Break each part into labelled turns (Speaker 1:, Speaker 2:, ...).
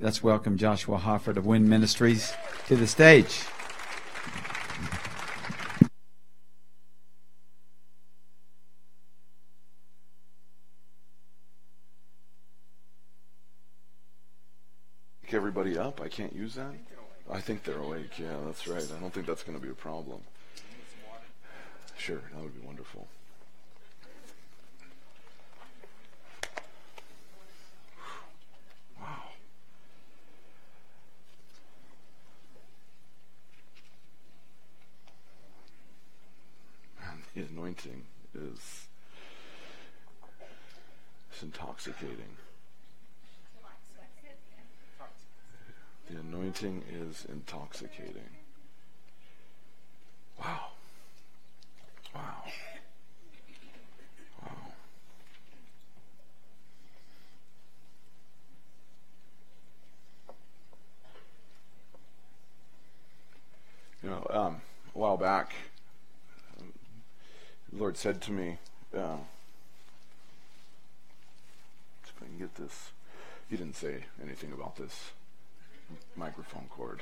Speaker 1: Let's welcome Joshua Hofford of Wind Ministries to the stage.
Speaker 2: Pick everybody up? I can't use that? I think they're awake. Yeah, that's right. I don't think that's going to be a problem. Sure, that would be wonderful. Wow. Man, the anointing is intoxicating. The anointing is intoxicating. Wow. Wow. Wow. You know, a while back, the Lord said to me, if I can get this, He didn't say anything about this microphone cord.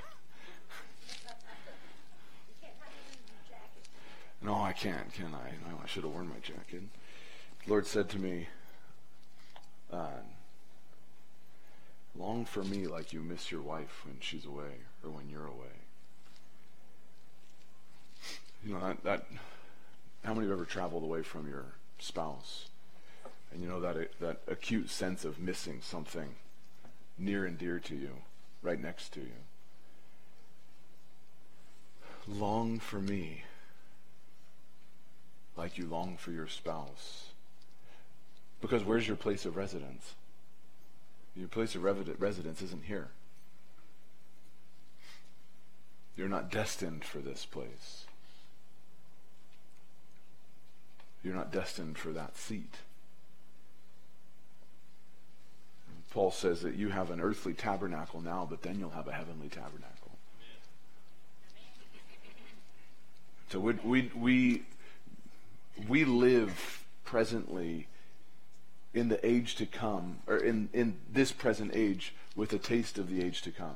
Speaker 2: No, I can't, can I? No, I should have worn my jacket. The Lord said to me, long for me like you miss your wife when she's away or when you're away. You know, that how many have ever traveled away from your spouse? And you know that acute sense of missing something near and dear to you, right next to you. Long for me like you long for your spouse. Because where's your place of residence? Your place of residence isn't here. You're not destined for this place. You're not destined for that seat. Paul says that you have an earthly tabernacle now, but then you'll have a heavenly tabernacle. So we live presently in the age to come, or in this present age with a taste of the age to come.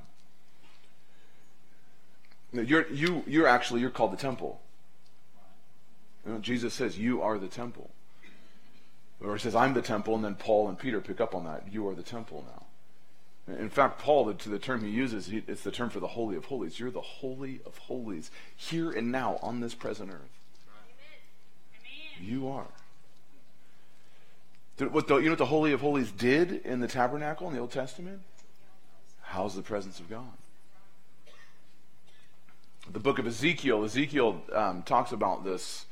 Speaker 2: You're called the temple. You know, Jesus says you are the temple. Or he says, I'm the temple, and then Paul and Peter pick up on that. You are the temple now. In fact, Paul, the term he uses, it's the term for the Holy of Holies. You're the Holy of Holies, here and now on this present earth. Amen. You are. You know what the Holy of Holies did in the tabernacle in the Old Testament? House the presence of God. The book of Ezekiel talks about this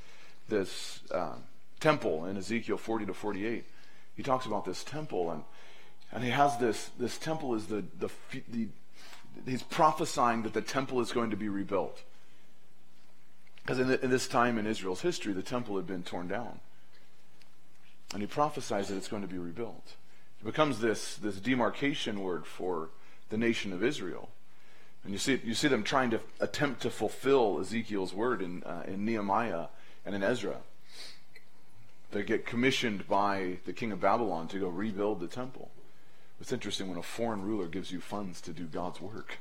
Speaker 2: temple in Ezekiel 40 to 48. He talks about this temple, and he has this temple is he's prophesying that the temple is going to be rebuilt. Because in this time in Israel's history, the temple had been torn down. And he prophesies that it's going to be rebuilt. It becomes this demarcation word for the nation of Israel. And you see them trying to attempt to fulfill Ezekiel's word in Nehemiah and in Ezra. They get commissioned by the king of Babylon to go rebuild the temple. It's interesting when a foreign ruler gives you funds to do God's work.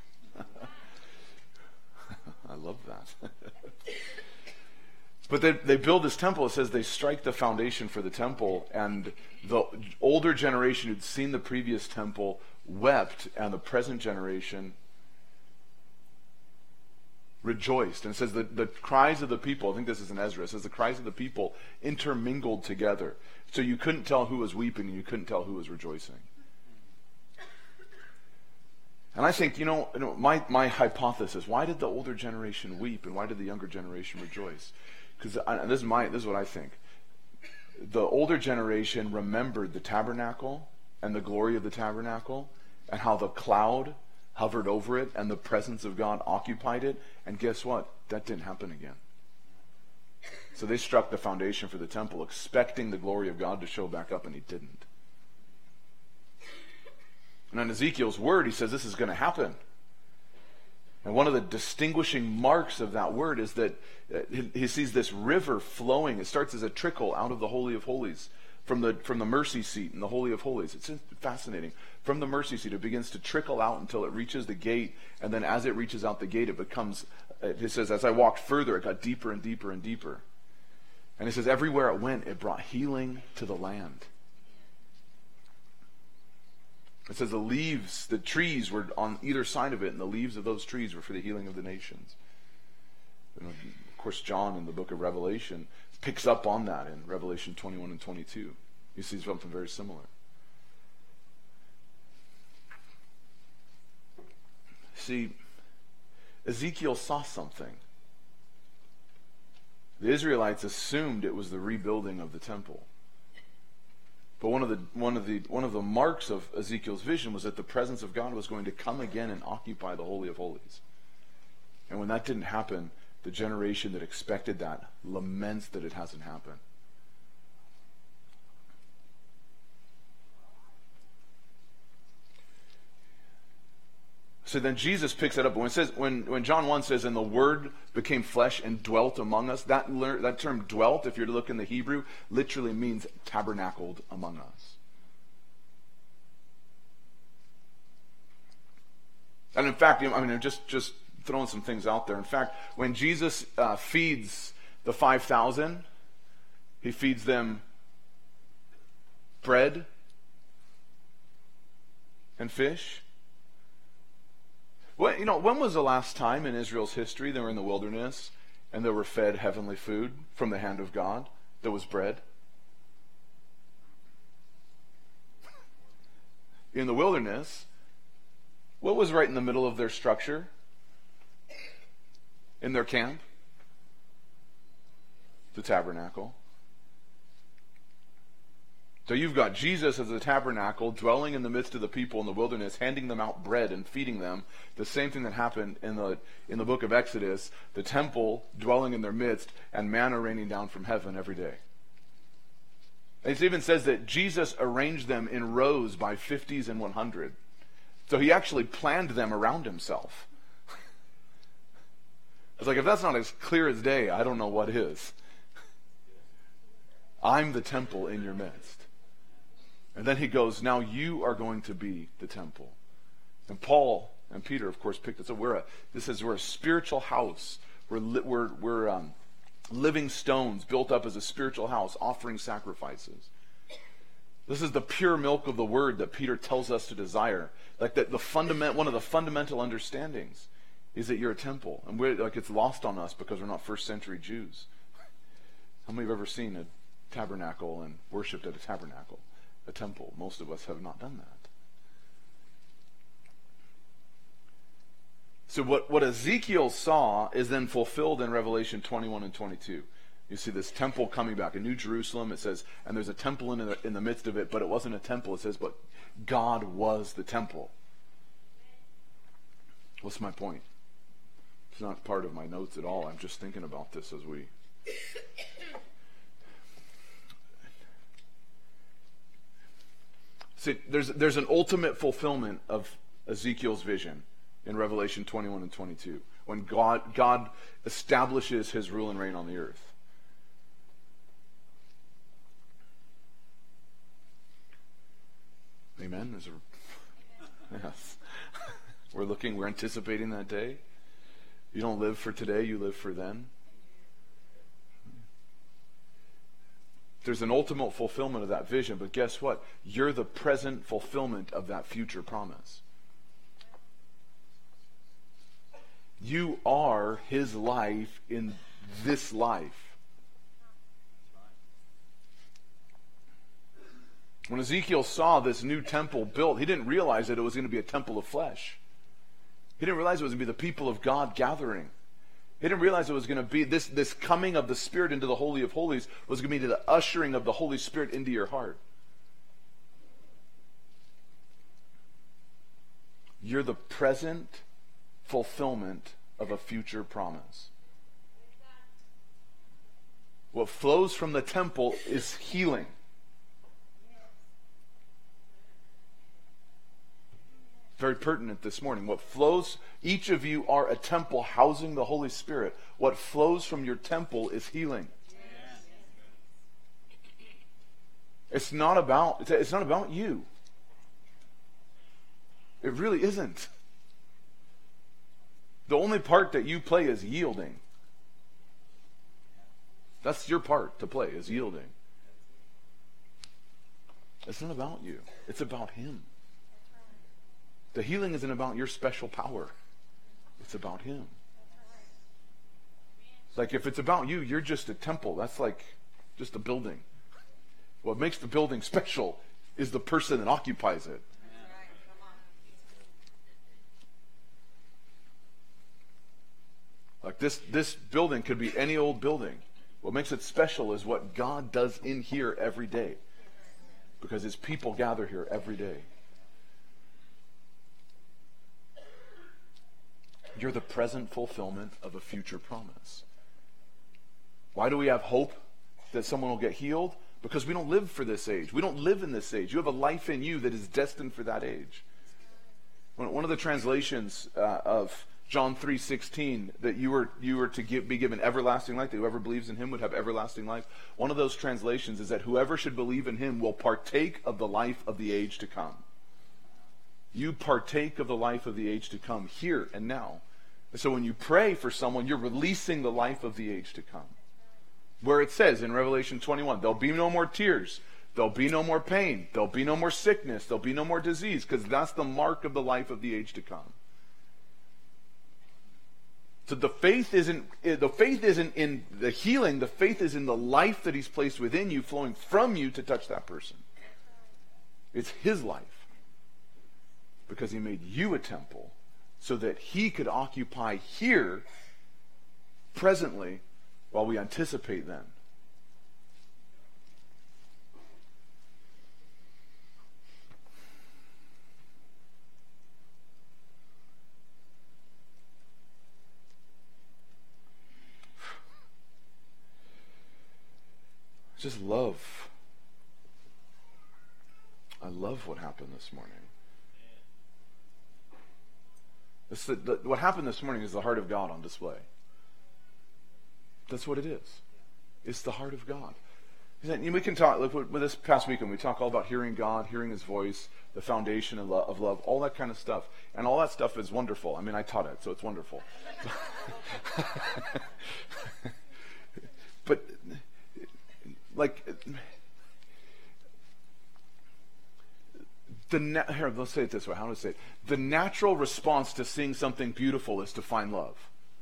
Speaker 2: I love that. But they build this temple. It says they strike the foundation for the temple, and the older generation who'd seen the previous temple wept, and the present generation rejoiced. And it says that the cries of the people, I think this is in Ezra, it says the cries of the people intermingled together. So you couldn't tell who was weeping and you couldn't tell who was rejoicing. And I think, my hypothesis, why did the older generation weep and why did the younger generation rejoice? Because this is what I think. The older generation remembered the tabernacle and the glory of the tabernacle and how the cloud hovered over it and the presence of God occupied it. And guess what? That didn't happen again. So they struck the foundation for the temple expecting the glory of God to show back up, and he didn't. And in Ezekiel's word, he says this is going to happen. And one of the distinguishing marks of that word is that he sees this river flowing. It starts as a trickle out of the Holy of Holies from the mercy seat in the Holy of Holies. It's fascinating. From the mercy seat, it begins to trickle out until it reaches the gate, and then as it reaches out the gate, it says, as I walked further, it got deeper and deeper and deeper. And it says, everywhere it went, it brought healing to the land. It says the trees were on either side of it, and the leaves of those trees were for the healing of the nations. And of course, John in the book of Revelation picks up on that in Revelation 21 and 22. You see something very similar. See, Ezekiel saw something. The Israelites assumed it was the rebuilding of the temple. But one of the marks of Ezekiel's vision was that the presence of God was going to come again and occupy the Holy of Holies. And when that didn't happen, the generation that expected that laments that it hasn't happened. So then Jesus picks it up. When John 1 says, and the Word became flesh and dwelt among us, that term dwelt, if you're to look in the Hebrew, literally means tabernacled among us. And in fact, I'm just throwing some things out there. In fact, when Jesus feeds the 5,000, he feeds them bread and fish. When was the last time in Israel's history they were in the wilderness and they were fed heavenly food from the hand of God that was bread? In the wilderness, what was right in the middle of their structure? In their camp? The tabernacle. So you've got Jesus as the tabernacle, dwelling in the midst of the people in the wilderness, handing them out bread and feeding them. The same thing that happened in the book of Exodus, the temple dwelling in their midst, and manna raining down from heaven every day. It even says that Jesus arranged them in rows by 50s and 100. So he actually planned them around himself. It's like, if that's not as clear as day, I don't know what is. I'm the temple in your midst. And then he goes, now you are going to be the temple. And Paul and Peter, of course, picked this up. We're a spiritual house. We're living stones built up as a spiritual house, offering sacrifices. This is the pure milk of the word that Peter tells us to desire. Like that, one of the fundamental understandings is that you're a temple, and it's lost on us because we're not first century Jews. How many have ever seen a tabernacle and worshipped at a tabernacle? A temple. Most of us have not done that. So what Ezekiel saw is then fulfilled in Revelation 21 and 22. You see this temple coming back, a new Jerusalem. It says, and there's a temple in the midst of it, but it wasn't a temple. It says, but God was the temple. What's my point? It's not part of my notes at all. I'm just thinking about this as we... See, there's an ultimate fulfillment of Ezekiel's vision in Revelation 21 and 22, when God establishes his rule and reign on the earth. Amen? Yes. We're anticipating that day. You don't live for today, you live for then. There's an ultimate fulfillment of that vision, but guess what? You're the present fulfillment of that future promise. You are his life in this life. When Ezekiel saw this new temple built, he didn't realize that it was going to be a temple of flesh. He didn't realize it was going to be the people of God gathering. He didn't realize it was going to be this coming of the Spirit into the Holy of Holies was going to be the ushering of the Holy Spirit into your heart. You're the present fulfillment of a future promise. What flows from the temple is healing. Very pertinent this morning. What flows, each of you are a temple housing the Holy Spirit. What flows from your temple is healing. It's not about you. It really isn't. The only part that you play is yielding. That's your part to play, is yielding. It's not about you. It's about him. The healing isn't about your special power. It's about him. Like if it's about you, you're just a temple. That's like just a building. What makes the building special is the person that occupies it. Like this building could be any old building. What makes it special is what God does in here every day. Because his people gather here every day. You're the present fulfillment of a future promise. Why do we have hope that someone will get healed? Because we don't live for this age. We don't live in this age. You have a life in you that is destined for that age. One of the translations of John 3:16, that you were to be given everlasting life, that whoever believes in him would have everlasting life. One of those translations is that whoever should believe in him will partake of the life of the age to come. You partake of the life of the age to come here and now. So when you pray for someone, you're releasing the life of the age to come. Where it says in Revelation 21, there'll be no more tears, there'll be no more pain, there'll be no more sickness, there'll be no more disease, because that's the mark of the life of the age to come. So the faith isn't in the healing, the faith is in the life that he's placed within you, flowing from you to touch that person. It's his life. Because he made you a temple so that he could occupy here presently while we anticipate then. Just love. I love what happened this morning. What happened this morning is the heart of God on display. That's what it is. It's the heart of God. We can talk, like with this past weekend, we talk all about hearing God, hearing his voice, the foundation of love, all that kind of stuff. And all that stuff is wonderful. I mean, I taught it, so it's wonderful. But, like, here, let's say it this way. How do I say it? The natural response to seeing something beautiful is to find love.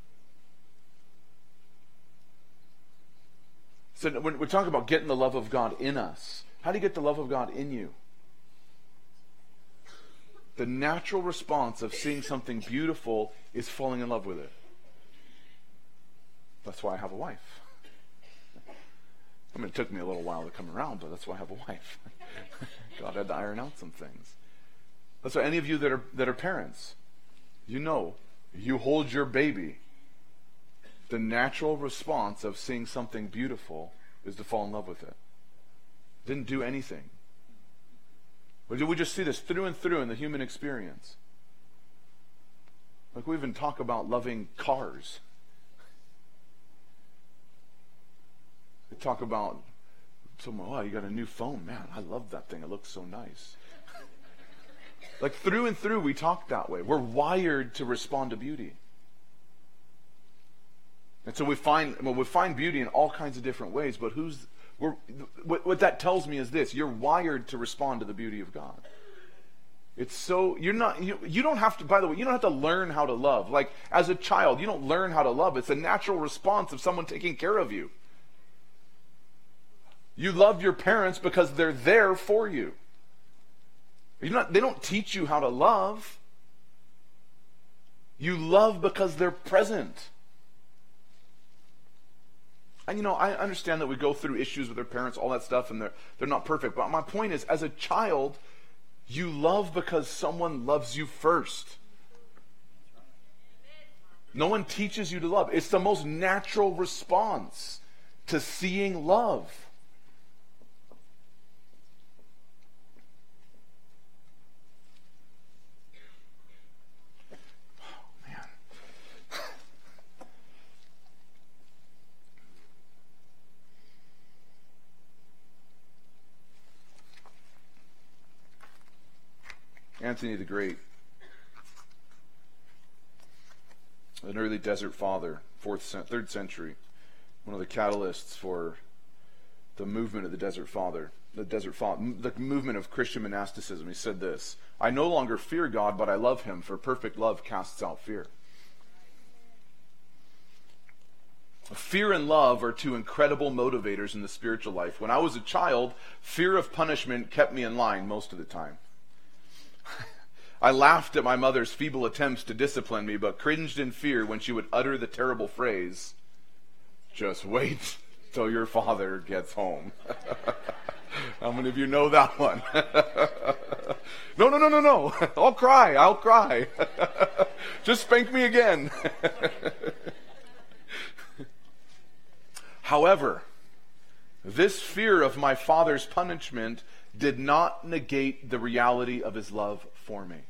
Speaker 2: So when we talk about getting the love of God in us, how do you get the love of God in you? The natural response of seeing something beautiful is falling in love with it. That's why I have a wife. I mean, it took me a little while to come around, but that's why I have a wife. God had to iron out some things. That's why any of you that are parents, you know, you hold your baby. The natural response of seeing something beautiful is to fall in love with it. Didn't do anything. We just see this through and through in the human experience. Like we even talk about loving cars. We talk about someone, oh, you got a new phone. Man, I love that thing. It looks so nice. Like through and through, we talk that way. We're wired to respond to beauty. And so we find beauty in all kinds of different ways, but what that tells me is this: you're wired to respond to the beauty of God. It's so, you don't have to, by the way, you don't have to learn how to love. Like as a child, you don't learn how to love. It's a natural response of someone taking care of you. You love your parents because they're there for you. They don't teach you how to love. You love because they're present. And I understand that we go through issues with our parents, all that stuff, and they're not perfect. But my point is, as a child, you love because someone loves you first. No one teaches you to love. It's the most natural response to seeing love. Anthony the Great, an early desert father, 3rd century, one of the catalysts for the movement of the movement of Christian monasticism. He said this: "I no longer fear God, but I love him, for perfect love casts out fear." Fear and love are two incredible motivators in the spiritual life. When I was a child, fear of punishment kept me in line most of the time. I laughed at my mother's feeble attempts to discipline me, but cringed in fear when she would utter the terrible phrase, "Just wait till your father gets home." How many of you know that one? No. I'll cry. Just spank me again. However, this fear of my father's punishment did not negate the reality of his love for me.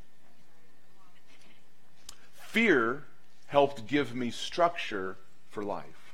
Speaker 2: Fear helped give me structure for life.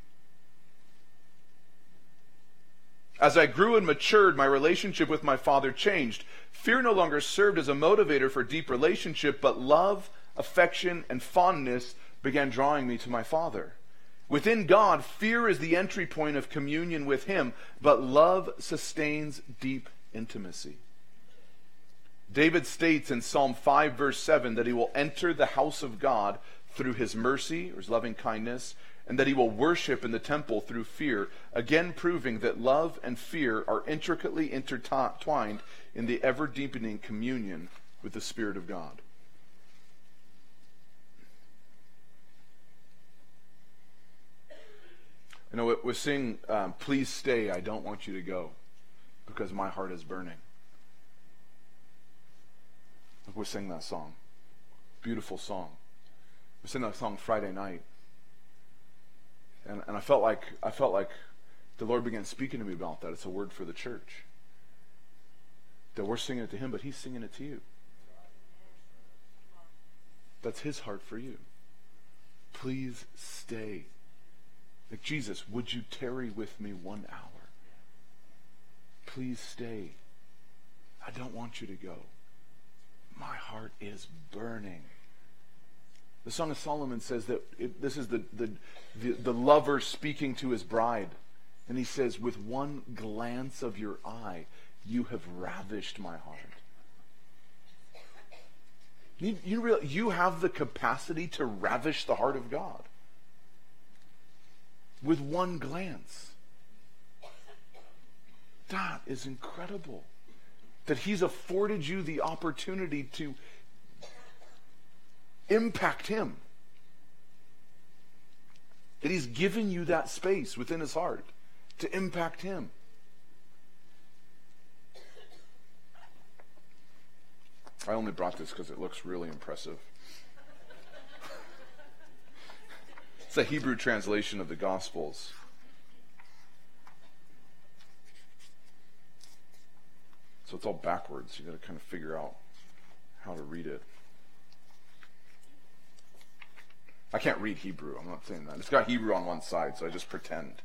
Speaker 2: As I grew and matured, my relationship with my father changed. Fear no longer served as a motivator for deep relationship, but love, affection, and fondness began drawing me to my father. Within God, fear is the entry point of communion with him, but love sustains deep intimacy. David states in Psalm 5, verse 7, that he will enter the house of God through his mercy, or his loving kindness, and that he will worship in the temple through fear, again proving that love and fear are intricately intertwined in the ever-deepening communion with the Spirit of God. You know, we sing, "Please stay, I don't want you to go, because my heart is burning." We sing that song. Beautiful song. We sang that song Friday night. And I felt like the Lord began speaking to me about that. It's a word for the church. That we're singing it to him, but he's singing it to you. That's his heart for you. Please stay. Like, Jesus, would you tarry with me 1 hour? Please stay. I don't want you to go. My heart is burning. The Song of Solomon says that this is the lover speaking to his bride. And he says, "With one glance of your eye, you have ravished my heart." You have the capacity to ravish the heart of God. With one glance. That is incredible. That he's afforded you the opportunity to impact him. That he's given you that space within his heart to impact him. I only brought this because it looks really impressive. It's a Hebrew translation of the Gospels. So it's all backwards. You've got to kind of figure out how to read it. I can't read Hebrew. I'm not saying that. It's got Hebrew on one side, so I just pretend.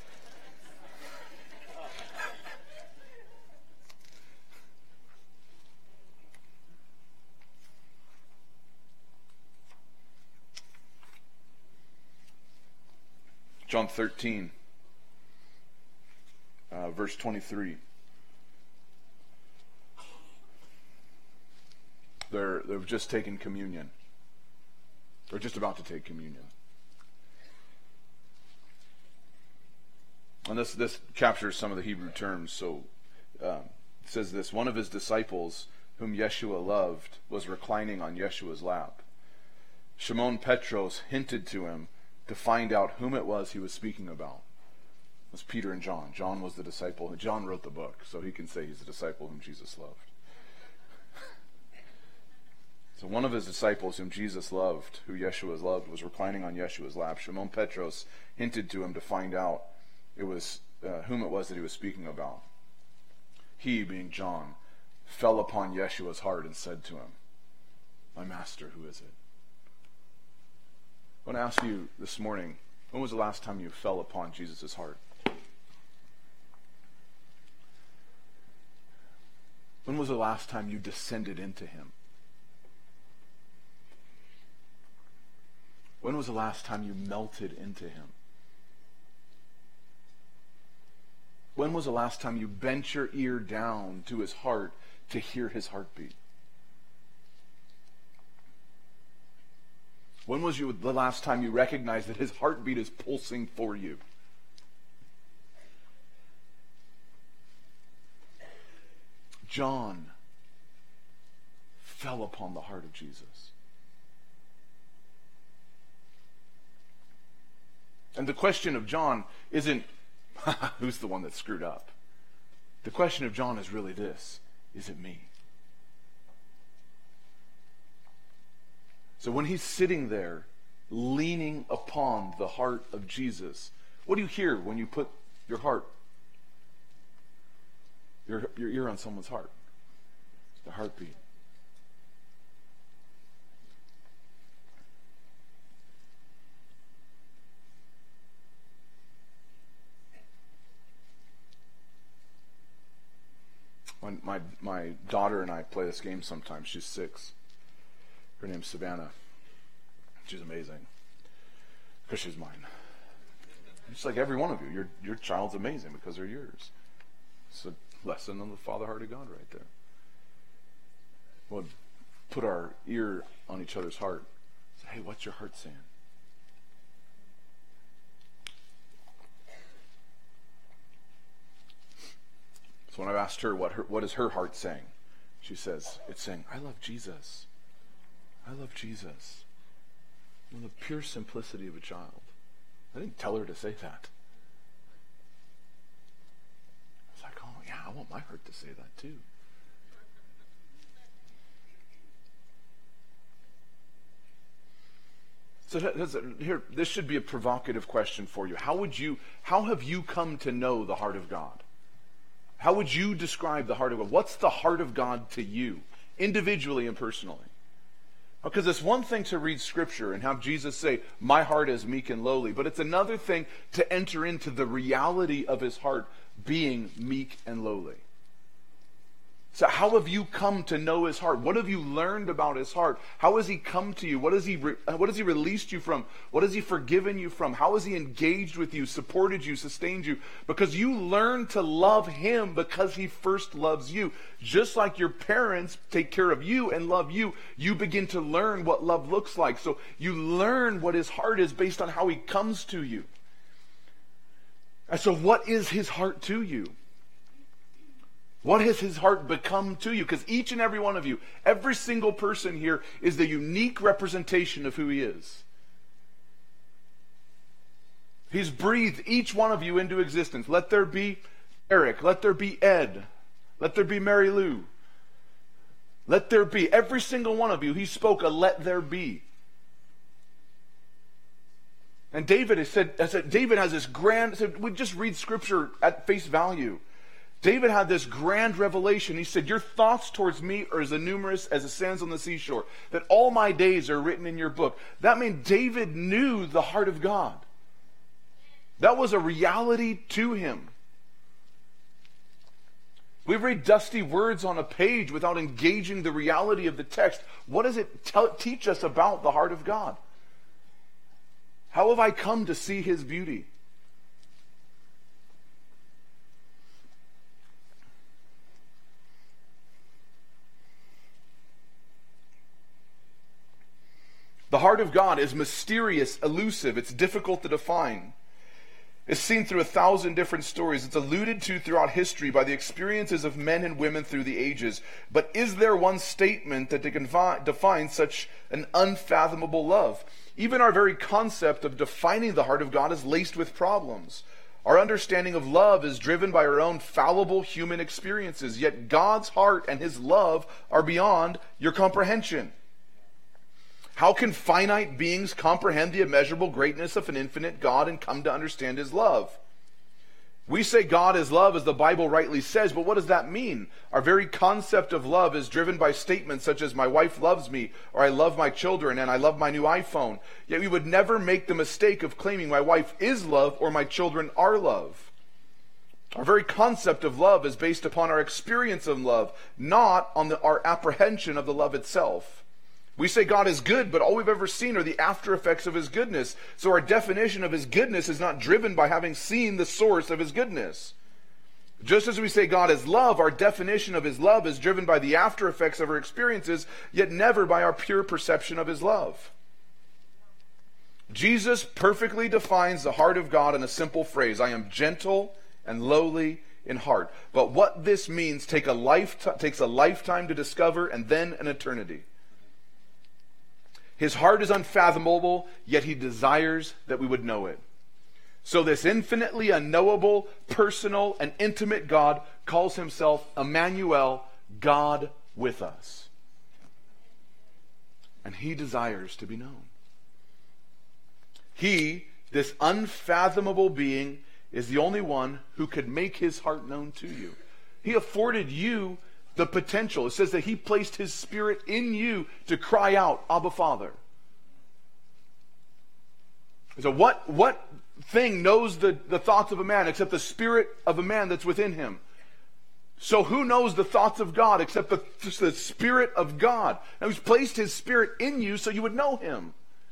Speaker 2: John 13, verse 23. They've just taken communion. They're just about to take communion. And this captures some of the Hebrew terms. So it says this: one of his disciples, whom Yeshua loved, was reclining on Yeshua's lap. Shimon Petros hinted to him to find out whom it was he was speaking about. It was Peter and John. John was the disciple. John wrote the book, so he can say he's the disciple whom Jesus loved. So one of his disciples whom Jesus loved, who Yeshua loved, was reclining on Yeshua's lap. Shimon Petros hinted to him to find out whom it was that he was speaking about. He, being John, fell upon Yeshua's heart and said to him, "My master, who is it?" I want to ask you this morning, when was the last time you fell upon Jesus' heart? When was the last time you descended into him? When was the last time you melted into him? When was the last time you bent your ear down to his heart to hear his heartbeat? When was the last time you recognized that his heartbeat is pulsing for you? John fell upon the heart of Jesus. And the question of John isn't, who's the one that screwed up? The question of John is really this: is it me? So when he's sitting there, leaning upon the heart of Jesus, what do you hear when you put your ear on someone's heart? The heartbeat. When my daughter and I play this game sometimes. She's 6. Her name's Savannah. She's amazing. Because she's mine. Just like every one of you. Your child's amazing because they're yours. It's a lesson on the Father heart of God right there. We'll put our ear on each other's heart. Say, hey, what's your heart saying? So when I've asked her what is her heart saying, she says, it's saying, I love Jesus. I love Jesus. And the pure simplicity of a child. I didn't tell her to say that. I was like, oh yeah, I want my heart to say that too. So here, this should be a provocative question for you. How have you come to know the heart of God? How would you describe the heart of God? What's the heart of God to you, individually and personally? Because it's one thing to read Scripture and have Jesus say, my heart is meek and lowly, but it's another thing to enter into the reality of his heart being meek and lowly. So how have you come to know his heart? What have you learned about his heart? How has he come to you? What has he released you from? What has he forgiven you from? How has he engaged with you, supported you, sustained you? Because you learn to love him because he first loves you. Just like your parents take care of you and love you, you begin to learn what love looks like. So you learn what his heart is based on how he comes to you. And so what is his heart to you? What has his heart become to you? Because each and every one of you, every single person here is the unique representation of who he is. He's breathed each one of you into existence. Let there be Eric. Let there be Ed. Let there be Mary Lou. Let there be. Every single one of you, he spoke a let there be. And David has said, David has this grand, we just read Scripture at face value. David had this grand revelation. He said, your thoughts towards me are as numerous as the sands on the seashore, that all my days are written in your book. That meant David knew the heart of God. That was a reality to him. We read dusty words on a page without engaging the reality of the text. What does it teach us about the heart of God? How have I come to see his beauty? The heart of God is mysterious, elusive. It's difficult to define. It's seen through 1,000 different stories. It's alluded to throughout history by the experiences of men and women through the ages. But is there one statement that can define such an unfathomable love? Even our very concept of defining the heart of God is laced with problems. Our understanding of love is driven by our own fallible human experiences. Yet God's heart and his love are beyond your comprehension. How can finite beings comprehend the immeasurable greatness of an infinite God and come to understand his love? We say God is love, as the Bible rightly says, but what does that mean? Our very concept of love is driven by statements such as, my wife loves me, or I love my children, and I love my new iPhone. Yet we would never make the mistake of claiming my wife is love, or my children are love. Our very concept of love is based upon our experience of love, not on our apprehension of the love itself. We say God is good, but all we've ever seen are the after effects of his goodness. So our definition of his goodness is not driven by having seen the source of his goodness. Just as we say God is love, our definition of his love is driven by the after effects of our experiences, yet never by our pure perception of his love. Jesus perfectly defines the heart of God in a simple phrase: I am gentle and lowly in heart. But what this means takes a lifetime to discover, and then an eternity. His heart is unfathomable, yet he desires that we would know it. So this infinitely unknowable, personal, and intimate God calls himself Emmanuel, God with us. And he desires to be known. He, this unfathomable being, is the only one who could make his heart known to you. He afforded you the potential. It says that he placed his Spirit in you to cry out, Abba, Father. So what thing knows the thoughts of a man except the spirit of a man that's within him? So who knows the thoughts of God except the Spirit of God? Now he's placed his Spirit in you so you would know him.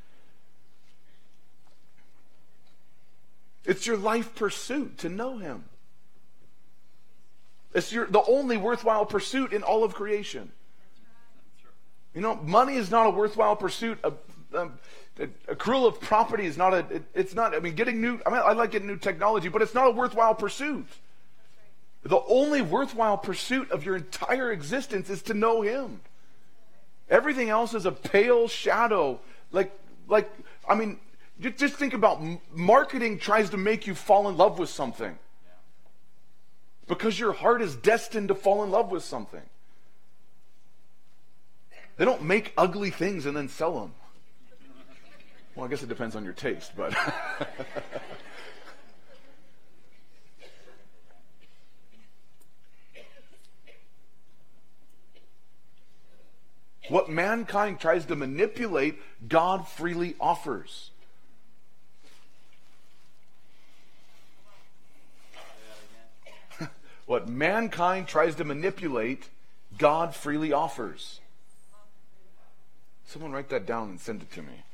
Speaker 2: It's your life pursuit to know him. It's the only worthwhile pursuit in all of creation. You know, money is not a worthwhile pursuit. Accrual of property is not I like getting new technology, but it's not a worthwhile pursuit. The only worthwhile pursuit of your entire existence is to know him. Everything else is a pale shadow. Just think about marketing tries to make you fall in love with something. Because your heart is destined to fall in love with something. They don't make ugly things and then sell them. Well, I guess it depends on your taste, but... What mankind tries to manipulate, God freely offers. What mankind tries to manipulate, God freely offers. Someone write that down and send it to me.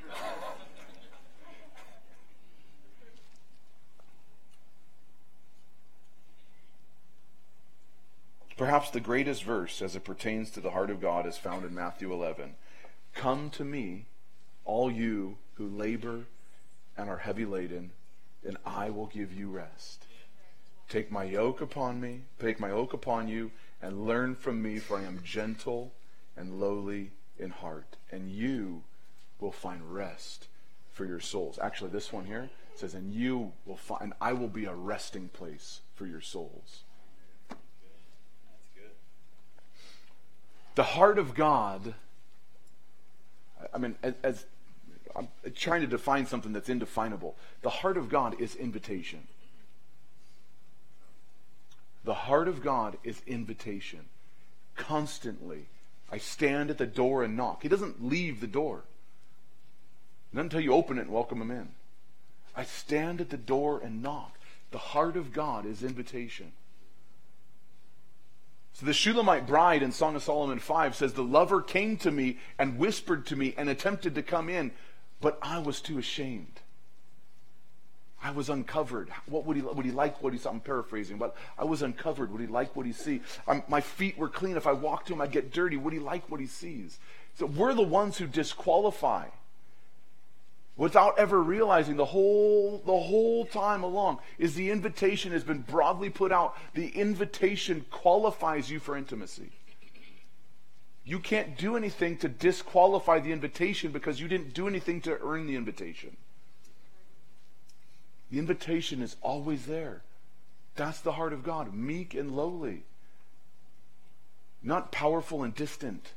Speaker 2: Perhaps the greatest verse as it pertains to the heart of God is found in Matthew 11. Come to me, all you who labor and are heavy laden, and I will give you rest. Take my yoke upon you, and learn from me, for I am gentle and lowly in heart, and you will find rest for your souls. Actually, this one here says, and I will be a resting place for your souls. That's good. The heart of God, as I'm trying to define something that's indefinable. The heart of God is invitation. The heart of God is invitation. Constantly. I stand at the door and knock. He doesn't leave the door. Not until you open it and welcome him in. I stand at the door and knock. The heart of God is invitation. So the Shulamite bride in Song of Solomon 5 says, the lover came to me and whispered to me and attempted to come in, but I was too ashamed. I was uncovered. What would he like what he saw? I'm paraphrasing, but I was uncovered. Would he like what he sees? My feet were clean. If I walked to him, I'd get dirty. Would he like what he sees? So we're the ones who disqualify without ever realizing the whole time along is the invitation has been broadly put out. The invitation qualifies you for intimacy. You can't do anything to disqualify the invitation because you didn't do anything to earn the invitation. The invitation is always there. That's the heart of God, meek and lowly. Not powerful and distant.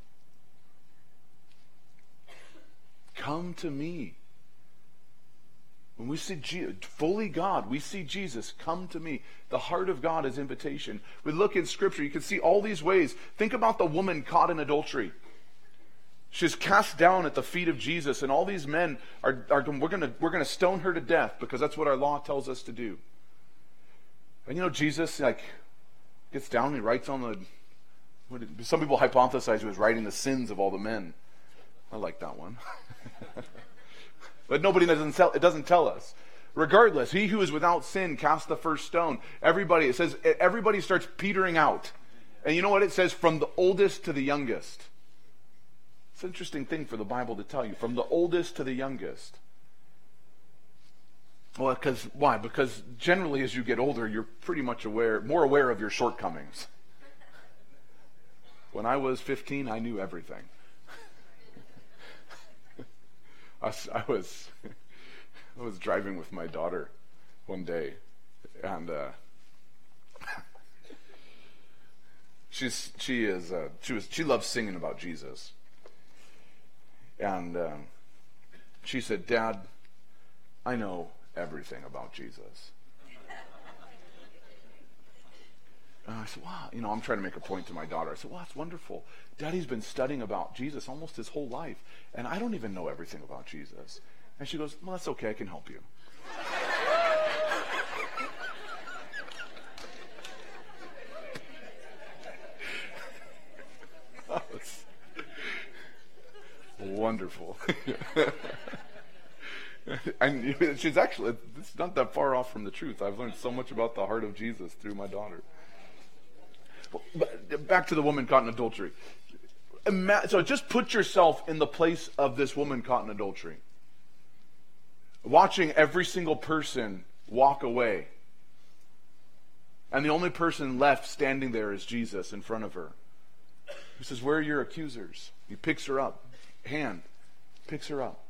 Speaker 2: Come to me. When we see fully God, we see Jesus, come to me. The heart of God is invitation. We look in Scripture, you can see all these ways. Think about the woman caught in adultery. She's cast down at the feet of Jesus, and all these men are we're gonna stone her to death because that's what our law tells us to do. And Jesus gets down and he writes on some people hypothesize he was writing the sins of all the men. I like that one. But it doesn't tell us. Regardless, he who is without sin cast the first stone. It says everybody starts petering out. And you know what it says? From the oldest to the youngest. It's an interesting thing for the Bible to tell you. From the oldest to the youngest. Well, why? Because generally as you get older, you're pretty much more aware of your shortcomings. When I was 15, I knew everything. I was driving with my daughter one day, and she loves singing about Jesus, and she said, "Dad, I know everything about Jesus." And I said, "Wow," I'm trying to make a point to my daughter. I said, "Wow, that's wonderful. Daddy's been studying about Jesus almost his whole life, and I don't even know everything about Jesus." And she goes, "Well, that's okay. I can help you." That's wonderful. And it's not that far off from the truth. I've learned so much about the heart of Jesus through my daughter. But back to the woman caught in adultery. So just put yourself in the place of this woman caught in adultery. Watching every single person walk away. And the only person left standing there is Jesus in front of her. He says, "Where are your accusers?" He picks her up. Picks her up.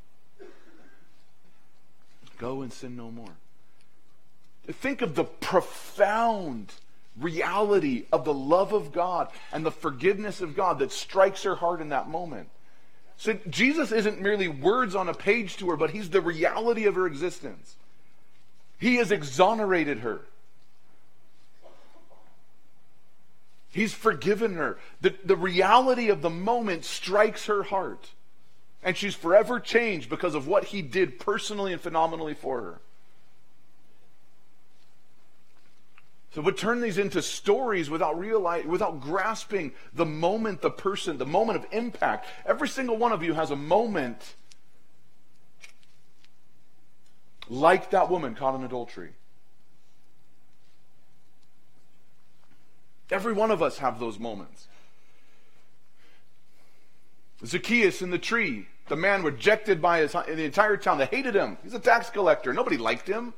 Speaker 2: Go and sin no more. Think of the profound reality of the love of God and the forgiveness of God that strikes her heart in that moment. So Jesus isn't merely words on a page to her, but he's the reality of her existence. He has exonerated her. He's forgiven her. The reality of the moment strikes her heart. And she's forever changed because of what he did personally and phenomenally for her. So we turn these into stories without grasping the moment, the person, the moment of impact. Every single one of you has a moment like that woman caught in adultery. Every one of us have those moments. Zacchaeus in the tree, the man rejected by the entire town. They hated him. He's a tax collector. Nobody liked him.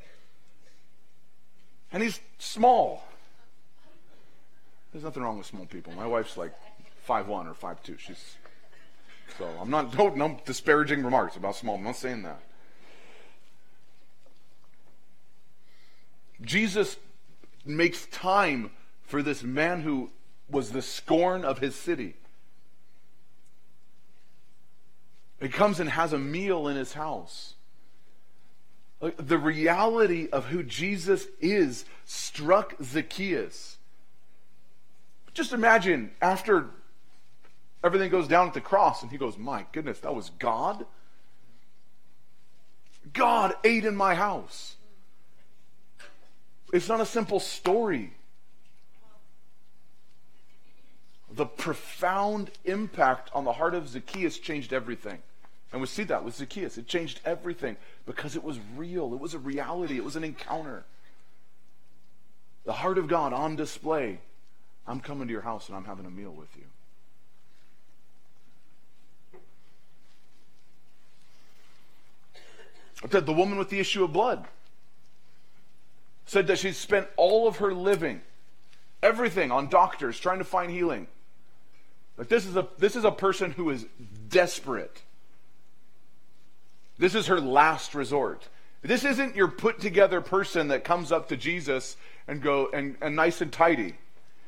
Speaker 2: And he's small. There's nothing wrong with small people. My wife's like 5'1" or 5'2". So no disparaging remarks about small. I'm not saying that. Jesus makes time for this man who was the scorn of his city. He comes and has a meal in his house. The reality of who Jesus is struck Zacchaeus. Just imagine after everything goes down at the cross and he goes, "My goodness, that was God? God ate in my house." It's not a simple story. The profound impact on the heart of Zacchaeus changed everything. And we see that with Zacchaeus. It changed everything because it was real. It was a reality. It was an encounter. The heart of God on display. I'm coming to your house and I'm having a meal with you. The woman with the issue of blood said that she spent all of her living, everything, on doctors trying to find healing. Like this is a person who is desperate. This is her last resort. This isn't your put together person that comes up to Jesus and go and nice and tidy.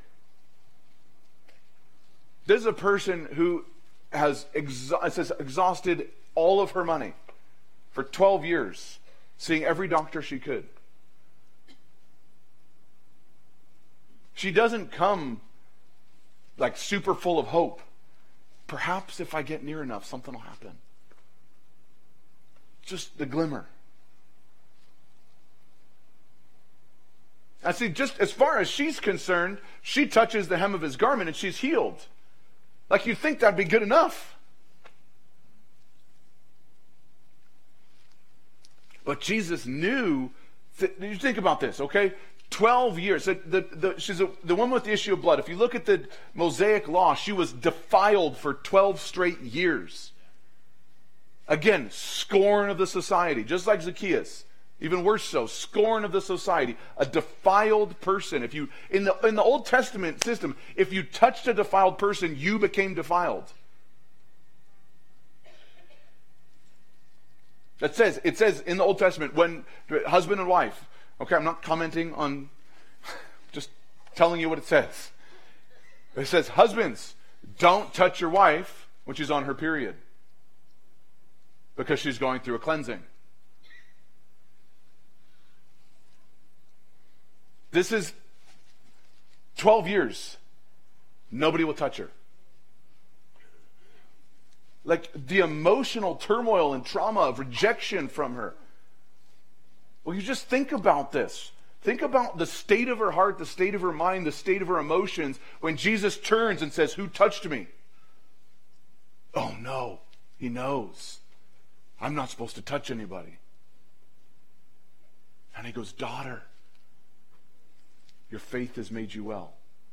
Speaker 2: This is a person who has exhausted all of her money for 12 years, seeing every doctor she could. She doesn't come like super full of hope. Perhaps if I get near enough, something will happen. Just the glimmer. I see, just as far as she's concerned, she touches the hem of his garment and she's healed. Like you'd think that'd be good enough. But Jesus knew, you think about this, okay? 12 years. She's the woman with the issue of blood. If you look at the Mosaic law, she was defiled for 12 straight years. Again, scorn of the society, just like Zacchaeus. Even worse so, scorn of the society. A defiled person. If you in the Old Testament system, if you touched a defiled person, you became defiled. It says in the Old Testament, when husband and wife, okay, I'm not commenting on, just telling you what it says. It says, husbands, don't touch your wife when she's on her period, because she's going through a cleansing. This is 12 years. Nobody will touch her. Like the emotional turmoil and trauma of rejection from her. Well, you just think about this. Think about the state of her heart, the state of her mind, the state of her emotions when Jesus turns and says, "Who touched me?" Oh no, he knows. I'm not supposed to touch anybody. And he goes, "Daughter, your faith has made you well."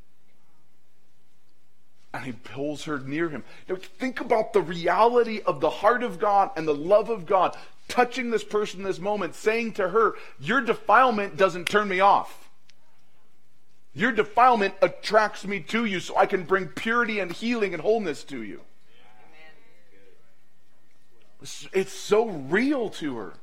Speaker 2: And he pulls her near him. Now, think about the reality of the heart of God and the love of God touching this person in this moment, saying to her, your defilement doesn't turn me off. Your defilement attracts me to you so I can bring purity and healing and wholeness to you. It's so real to her.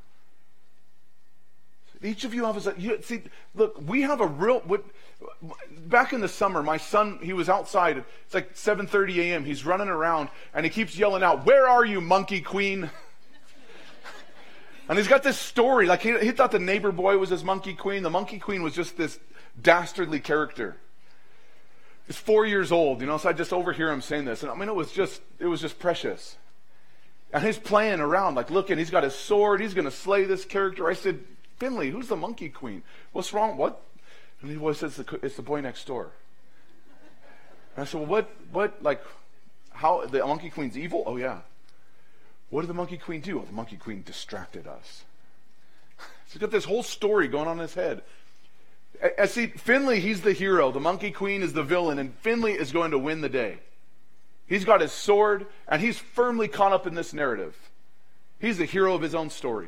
Speaker 2: Each of you have see, look, we have a real... Back in the summer, my son, he was outside. It's like 7:30 a.m. He's running around, and he keeps yelling out, "Where are you, monkey queen?" And he's got this story. Like he thought the neighbor boy was his monkey queen. The monkey queen was just this dastardly character. He's 4 years old, so I just overhear him saying this. And I mean, it was just precious. And he's playing around, like looking. He's got his sword. He's going to slay this character. I said, "Finley, who's the monkey queen? What's wrong? What?" And he always says, "It's the boy next door." And I said, "Well, what, like, how, the monkey queen's evil?" "Oh, yeah." "What did the monkey queen do?" "Oh, the monkey queen distracted us." So he's got this whole story going on in his head. I see, Finley, he's the hero. The monkey queen is the villain, and Finley is going to win the day. He's got his sword, and he's firmly caught up in this narrative. He's the hero of his own story.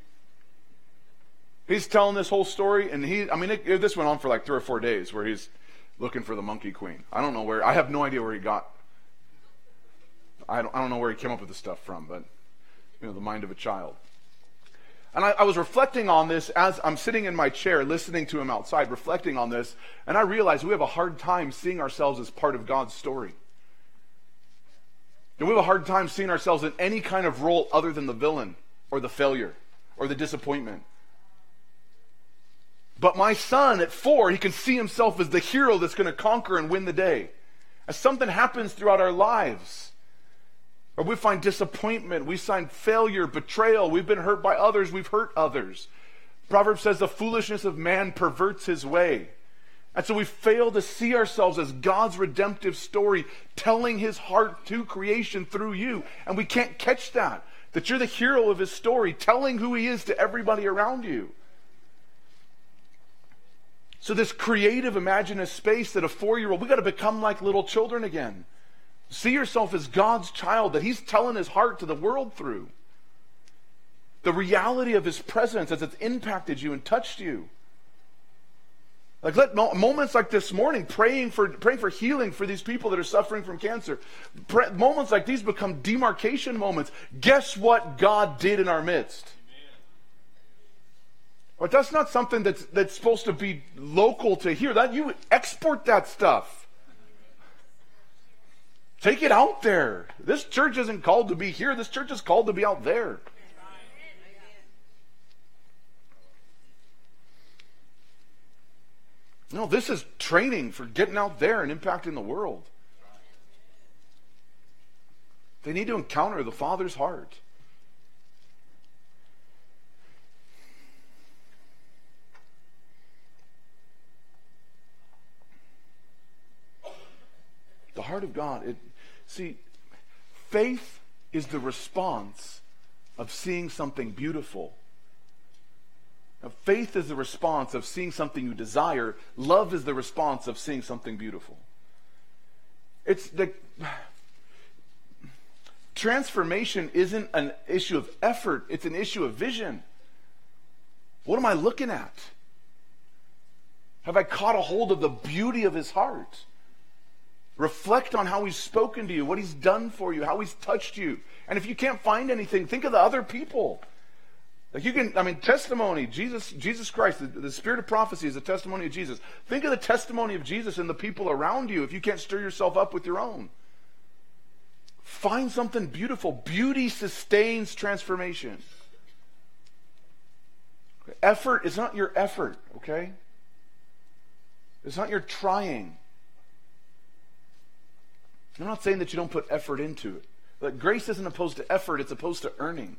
Speaker 2: He's telling this whole story, and this went on for like 3 or 4 days where he's looking for the monkey queen. I don't know where, I have no idea where he got, I don't know where he came up with this stuff from, but, the mind of a child. And I was reflecting on this as I'm sitting in my chair, listening to him outside, reflecting on this, and I realized we have a hard time seeing ourselves as part of God's story. And we have a hard time seeing ourselves in any kind of role other than the villain, or the failure, or the disappointment. But my son at 4, he can see himself as the hero that's going to conquer and win the day. As something happens throughout our lives, or we find disappointment, we find failure, betrayal, we've been hurt by others, we've hurt others. Proverbs says the foolishness of man perverts his way. And so we fail to see ourselves as God's redemptive story, telling his heart to creation through you. And we can't catch that you're the hero of his story, telling who he is to everybody around you. So this creative, imaginative space that a 4-year-old, we got to become like little children again. See yourself as God's child that he's telling his heart to the world through. The reality of his presence as it's impacted you and touched you. Like let moments like this morning, praying for healing for these people that are suffering from cancer. Moments like these become demarcation moments. Guess what God did in our midst? But that's not something that's supposed to be local to here. That you export that stuff. Take it out there. This church isn't called to be here. This church is called to be out there. No, this is training for getting out there and impacting the world. They need to encounter the Father's heart. The heart of God. See, faith is the response of seeing something beautiful Now, faith is the response of seeing something you desire. Love is the response of seeing something beautiful. It's the transformation isn't an issue of effort, it's an issue of vision. What am I looking at? Have I caught a hold of the beauty of his heart? Reflect on how he's spoken to you, what he's done for you, how he's touched you. And if you can't find anything, think of the other people. Like testimony, Jesus Christ, the spirit of prophecy is a testimony of Jesus. Think of the testimony of Jesus and the people around you if you can't stir yourself up with your own. Find something beautiful. Beauty sustains transformation. Effort is not your effort, okay? It's not your trying. I'm not saying that you don't put effort into it. But grace isn't opposed to effort, it's opposed to earning.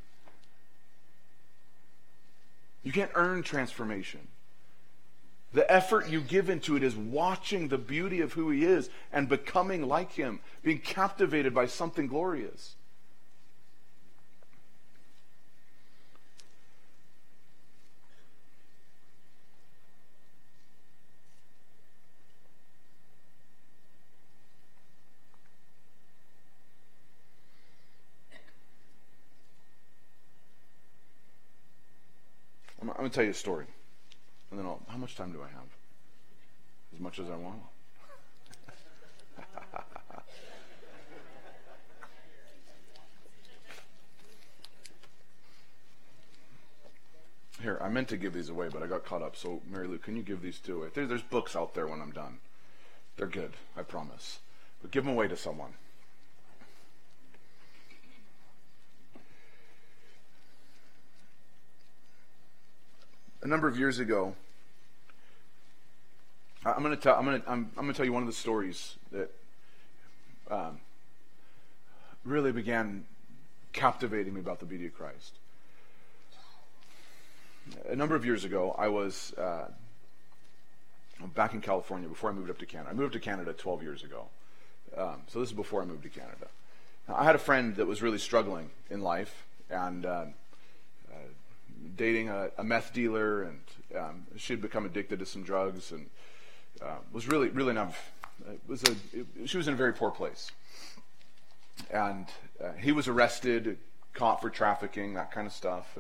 Speaker 2: You can't earn transformation. The effort you give into it is watching the beauty of who he is and becoming like him, being captivated by something glorious. I'm going to tell you a story. And then how much time do I have? As much as I want. Here, I meant to give these away, but I got caught up. So, Mary Lou, can you give these two away? There's books out there when I'm done. They're good, I promise. But give them away to someone. A number of years ago, I'm going to tell you one of the stories that really began captivating me about the beauty of Christ. A number of years ago, I was back in California before I moved up to Canada. I moved to Canada 12 years ago. So this is before I moved to Canada. Now, I had a friend that was really struggling in life and dating a meth dealer, and she had become addicted to some drugs and was really not. She was in a very poor place, and he was arrested, caught for trafficking, that kind of stuff,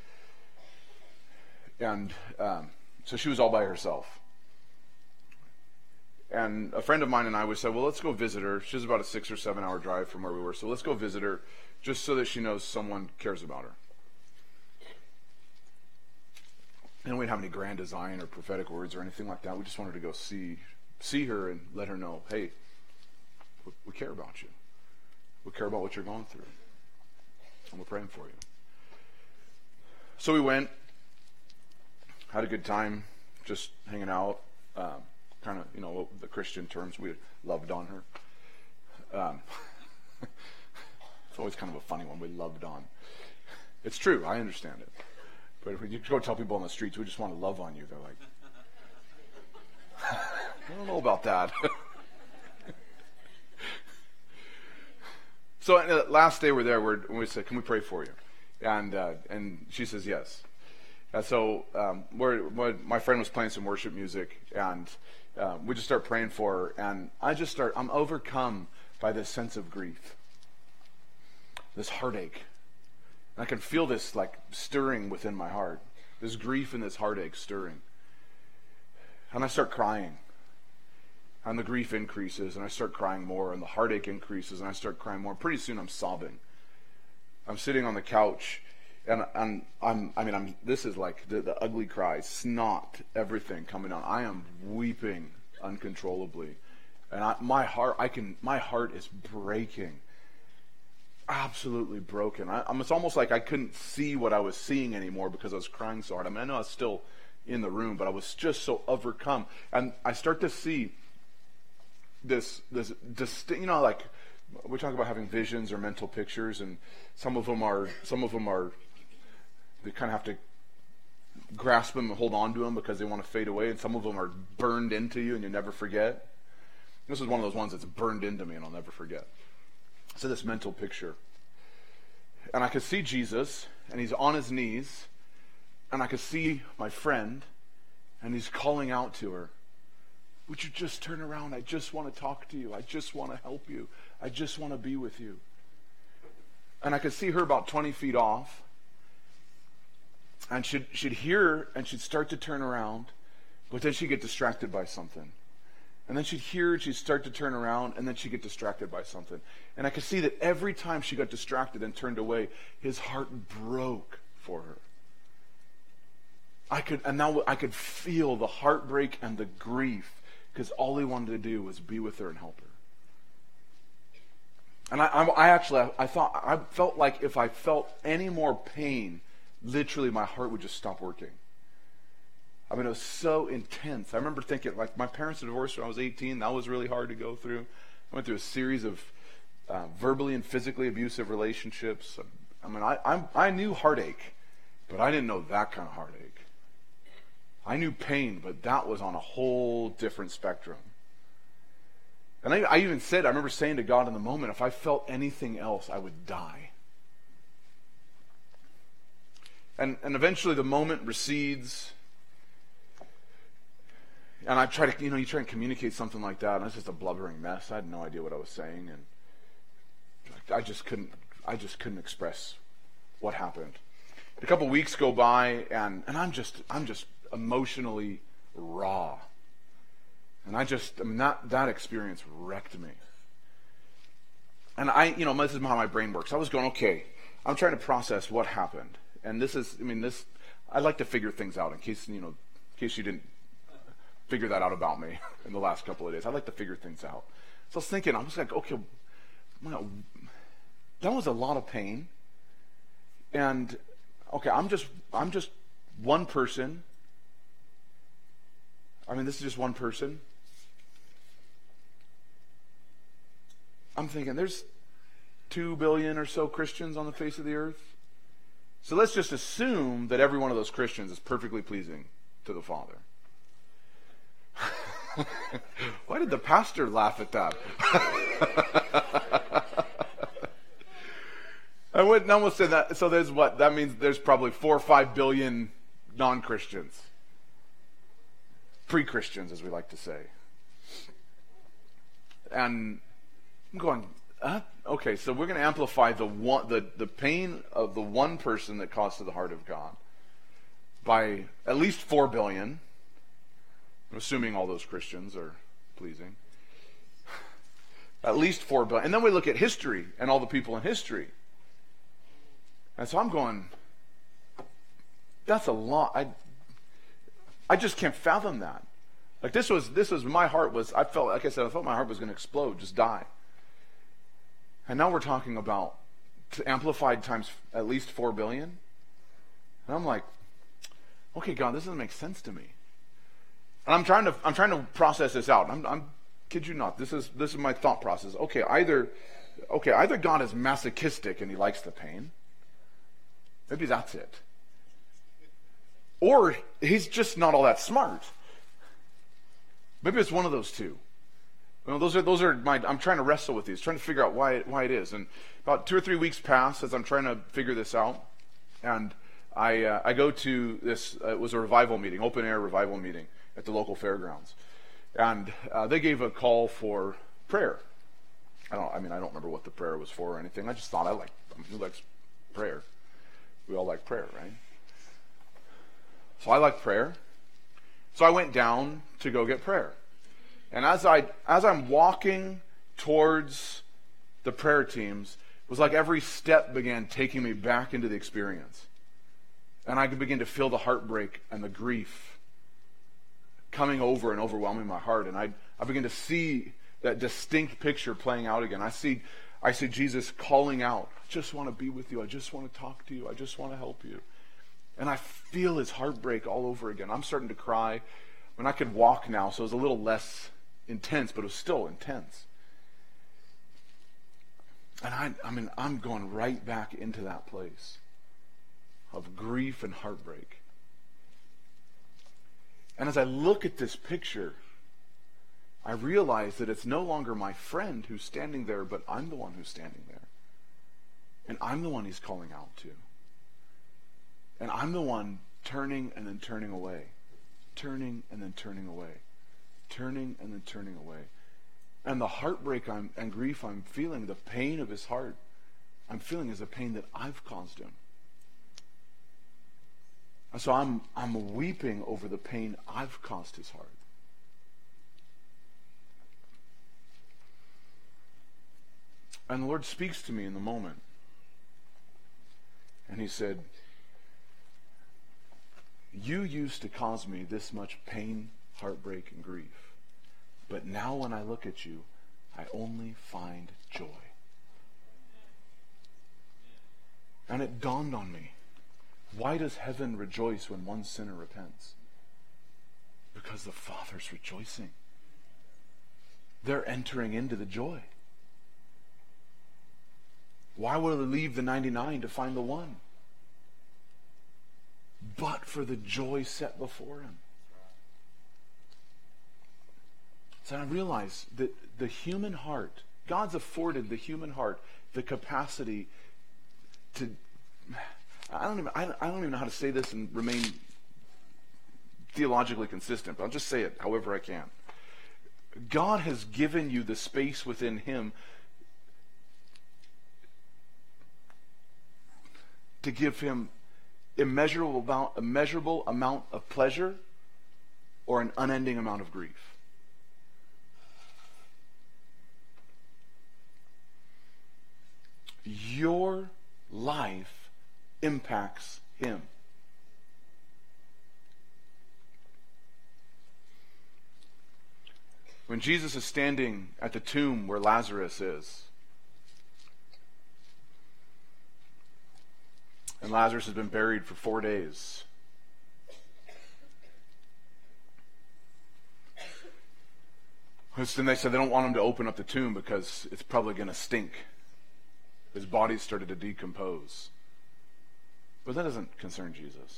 Speaker 2: and so she was all by herself. And a friend of mine and I would say, well, let's go visit her. She's about a 6 or 7 hour drive from where we were, so let's go visit her just so that she knows someone cares about her. And we didn't have any grand design or prophetic words or anything like that. We just wanted to go see her and let her know, hey, we care about you. We care about what you're going through. And we're praying for you. So we went, had a good time, just hanging out, kind of, the Christian terms, we loved on her. It's always kind of a funny one, we loved on. It's true, I understand it. But if you go tell people on the streets, we just want to love on you, they're like, I don't know about that. So the last day we're there, we said, can we pray for you? And she says yes. And so my friend was playing some worship music, and we just start praying for her, and I'm overcome by this sense of grief, this heartache. And I can feel this like stirring within my heart, this grief and this heartache stirring. And I start crying. And the grief increases, and I start crying more, and the heartache increases, and I start crying more. Pretty soon I'm sobbing. I'm sitting on the couch, and this is like the ugly cry, snot, everything coming on. I am weeping uncontrollably. And my heart is breaking. Absolutely broken. It's almost like I couldn't see what I was seeing anymore because I was crying so hard. I know I was still in the room, but I was just so overcome. And I start to see this distinct, like we talk about having visions or mental pictures, and some of them are they kind of have to grasp them and hold on to them because they want to fade away, and some of them are burned into you and you never forget. This is one of those ones that's burned into me and I'll never forget. So this mental picture. And I could see Jesus, and he's on his knees, And I could see my friend, and he's calling out to her, would you just turn around? I just want to talk to you. I just want to help you. I just want to be with you. And I could see her about 20 feet off. And she'd hear, and she'd start to turn around, but then she'd get distracted by something. And then she'd hear, she'd start to turn around, and then she'd get distracted by something. And I could see that every time she got distracted and turned away, his heart broke for her. I could feel the heartbreak and the grief, because all he wanted to do was be with her and help her. And I felt like if I felt any more pain, literally my heart would just stop working. I mean, it was so intense. I remember thinking, like, my parents were divorced when I was 18. That was really hard to go through. I went through a series of verbally and physically abusive relationships. I mean, I knew heartache, but I didn't know that kind of heartache. I knew pain, but that was on a whole different spectrum. And I even said, I remember saying to God in the moment, if I felt anything else, I would die. And eventually the moment recedes. And I try to, you try and communicate something like that, and it's just a blubbering mess. I had no idea what I was saying, and I just couldn't express what happened. A couple weeks go by, and I'm just emotionally raw. And that experience wrecked me. And this is how my brain works. I was going, okay, I'm trying to process what happened. And I like to figure things out in case you didn't figure that out about me in the last couple of days. I like to figure things out. So I was thinking, I was like, okay, that was a lot of pain. And okay, I'm just one person. I mean, this is just one person. I'm thinking there's 2 billion or so Christians on the face of the earth. So let's just assume that every one of those Christians is perfectly pleasing to the Father. Why did the pastor laugh at that? I wouldn't almost say that. So there's what? That means there's probably 4 or 5 billion non-Christians. Pre-Christians, as we like to say. And I'm going, okay, so we're going to amplify the pain of the one person that caused to the heart of God by at least 4 billion. I'm assuming all those Christians are pleasing. At least 4 billion. And then we look at history and all the people in history. And so I'm going, that's a lot. I just can't fathom that. Like this was my heart was, I felt my heart was going to explode, just die. And now we're talking about amplified times at least 4 billion. And I'm like, okay, God, this doesn't make sense to me. And I'm trying to process this out. I'm kid you not. This is my thought process. Okay, either God is masochistic and he likes the pain. Maybe that's it. Or he's just not all that smart. Maybe it's one of those two. Those are I'm trying to wrestle with these, trying to figure out why it is. And about 2 or 3 weeks pass as I'm trying to figure this out, and I go to this. It was a revival meeting, open air revival meeting at the local fairgrounds, and they gave a call for prayer. I don't remember what the prayer was for or anything. I just thought who likes prayer? We all like prayer, right? So I like prayer. So I went down to go get prayer. And as I'm walking towards the prayer teams, it was like every step began taking me back into the experience. And I could begin to feel the heartbreak and the grief coming over and overwhelming my heart. And I began to see that distinct picture playing out again. I see Jesus calling out, I just want to be with you. I just want to talk to you. I just want to help you. And I feel his heartbreak all over again. I'm starting to cry. I could walk now, so it was a little less intense, but it was still intense. And I'm going right back into that place of grief and heartbreak. And as I look at this picture, I realize that it's no longer my friend who's standing there, but I'm the one who's standing there. And I'm the one he's calling out to. And I'm the one turning and then turning away, turning and then turning away, turning and then turning away. And the heartbreak and grief I'm feeling, the pain of his heart, I'm feeling is the pain that I've caused him. And so I'm weeping over the pain I've caused his heart. And the Lord speaks to me in the moment. And he said, you used to cause me this much pain, heartbreak, and grief. But now when I look at you, I only find joy. And it dawned on me. Why does heaven rejoice when one sinner repents? Because the Father's rejoicing. They're entering into the joy. Why would they leave the 99 to find the one? But for the joy set before him. So I realize that the human heart, God's afforded the human heart the capacity to, I don't even know how to say this and remain theologically consistent, but I'll just say it however I can. God has given you the space within him to give him immeasurable amount of pleasure or an unending amount of grief. Your life impacts him. When Jesus is standing at the tomb where Lazarus is, and Lazarus has been buried for 4 days, then they said they don't want him to open up the tomb because it's probably going to stink. His body started to decompose. But that doesn't concern Jesus.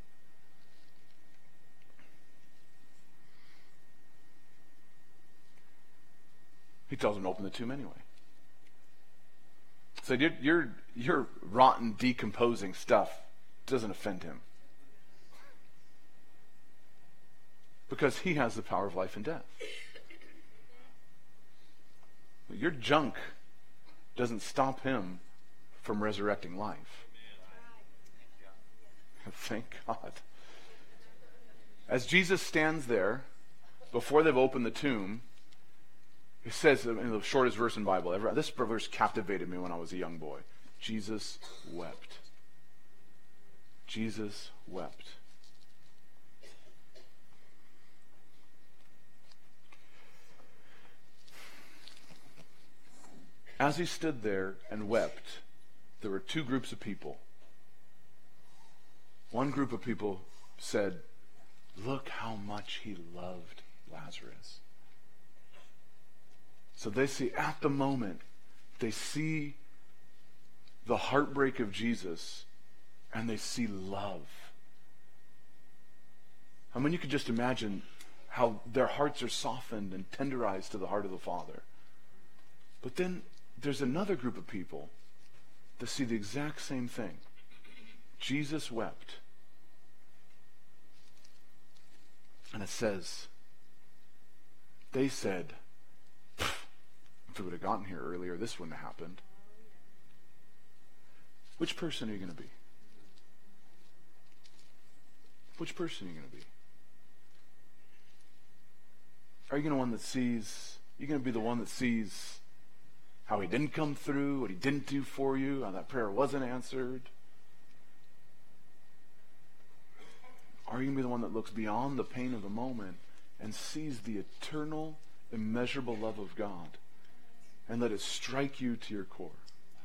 Speaker 2: He tells him to open the tomb anyway. So your rotten, decomposing stuff doesn't offend him. Because he has the power of life and death. Your junk doesn't stop him from resurrecting life. Thank God. As Jesus stands there, before they've opened the tomb, it says in the shortest verse in the Bible ever, this verse captivated me when I was a young boy. Jesus wept. Jesus wept. As he stood there and wept, there were two groups of people. One group of people said, look how much he loved Lazarus. So they see, at the moment, they see the heartbreak of Jesus, and they see love. I mean, you could just imagine how their hearts are softened and tenderized to the heart of the Father. But then there's another group of people that see the exact same thing. Jesus wept. And it says, they said, if we would have gotten here earlier, this wouldn't have happened. Which person are you going to be? Which person are you going to be? Are you going to be the one that sees how he didn't come through, what he didn't do for you, how that prayer wasn't answered? Are you going to be the one that looks beyond the pain of the moment and sees the eternal, immeasurable love of God and let it strike you to your core?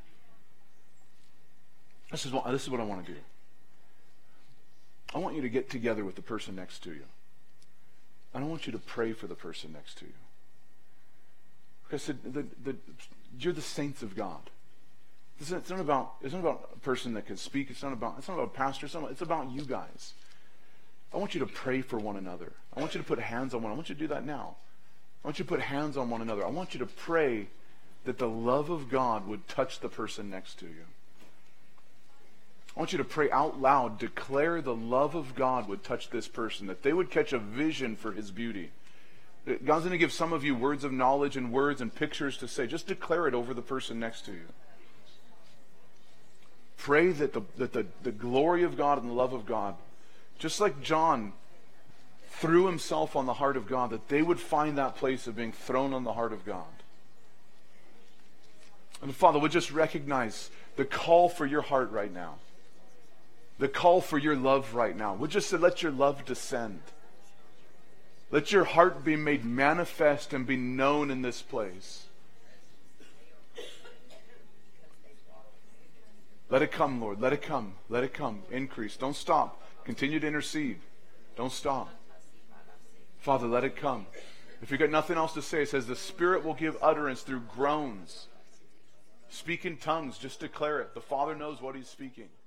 Speaker 2: This is what I want to do. I want you to get together with the person next to you. And I want you to pray for the person next to you. Because you're the saints of God. It's not about a person that can speak. It's not about a pastor. It's about you guys. I want you to pray for one another. I want you to put hands on one. I want you to do that now. I want you to put hands on one another. I want you to pray that the love of God would touch the person next to you. I want you to pray out loud, declare the love of God would touch this person, that they would catch a vision for His beauty. God's going to give some of you words of knowledge and words and pictures to say. Just declare it over the person next to you. Pray that the glory of God and the love of God, just like John threw himself on the heart of God, that they would find that place of being thrown on the heart of God. And Father, we just recognize the call for your heart right now. The call for your love right now. We just say, let your love descend. Let your heart be made manifest and be known in this place. Let it come, Lord. Let it come. Let it come. Increase. Don't stop. Continue to intercede. Don't stop. Father, let it come. If you've got nothing else to say, it says the Spirit will give utterance through groans. Speak in tongues. Just declare it. The Father knows what He's speaking.